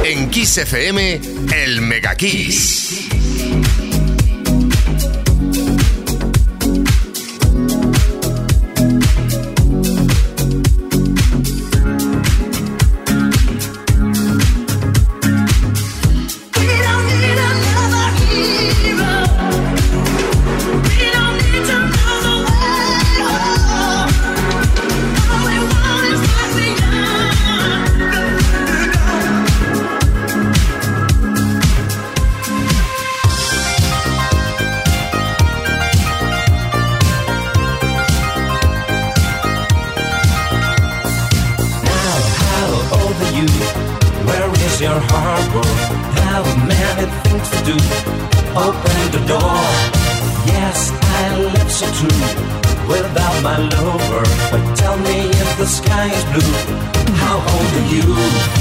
En Kiss FM, el Mega Kiss. Your harbor, have many things to do. Open the door. Yes, I love so true. Without my lover, but tell me if the sky is blue. How old are you?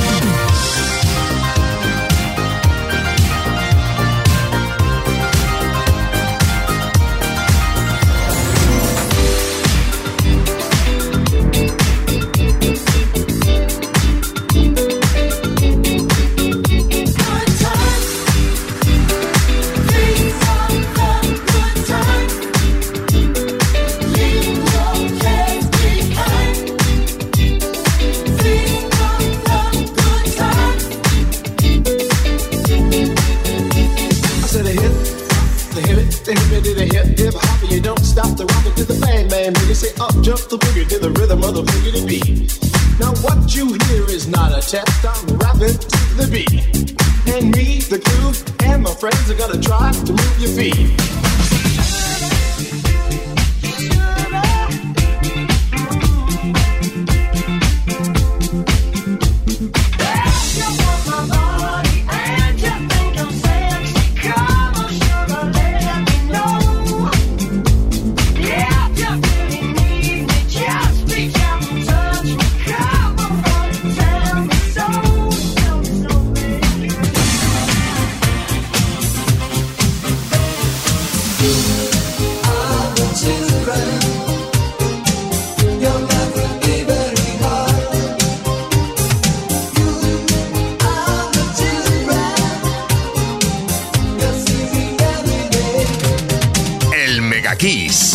Jump the boogie to the rhythm of the boogie beat. Now what you hear is not a test, I'm rapping to the beat. And me, the crew, and my friends are gonna try to move your feet. Kiss.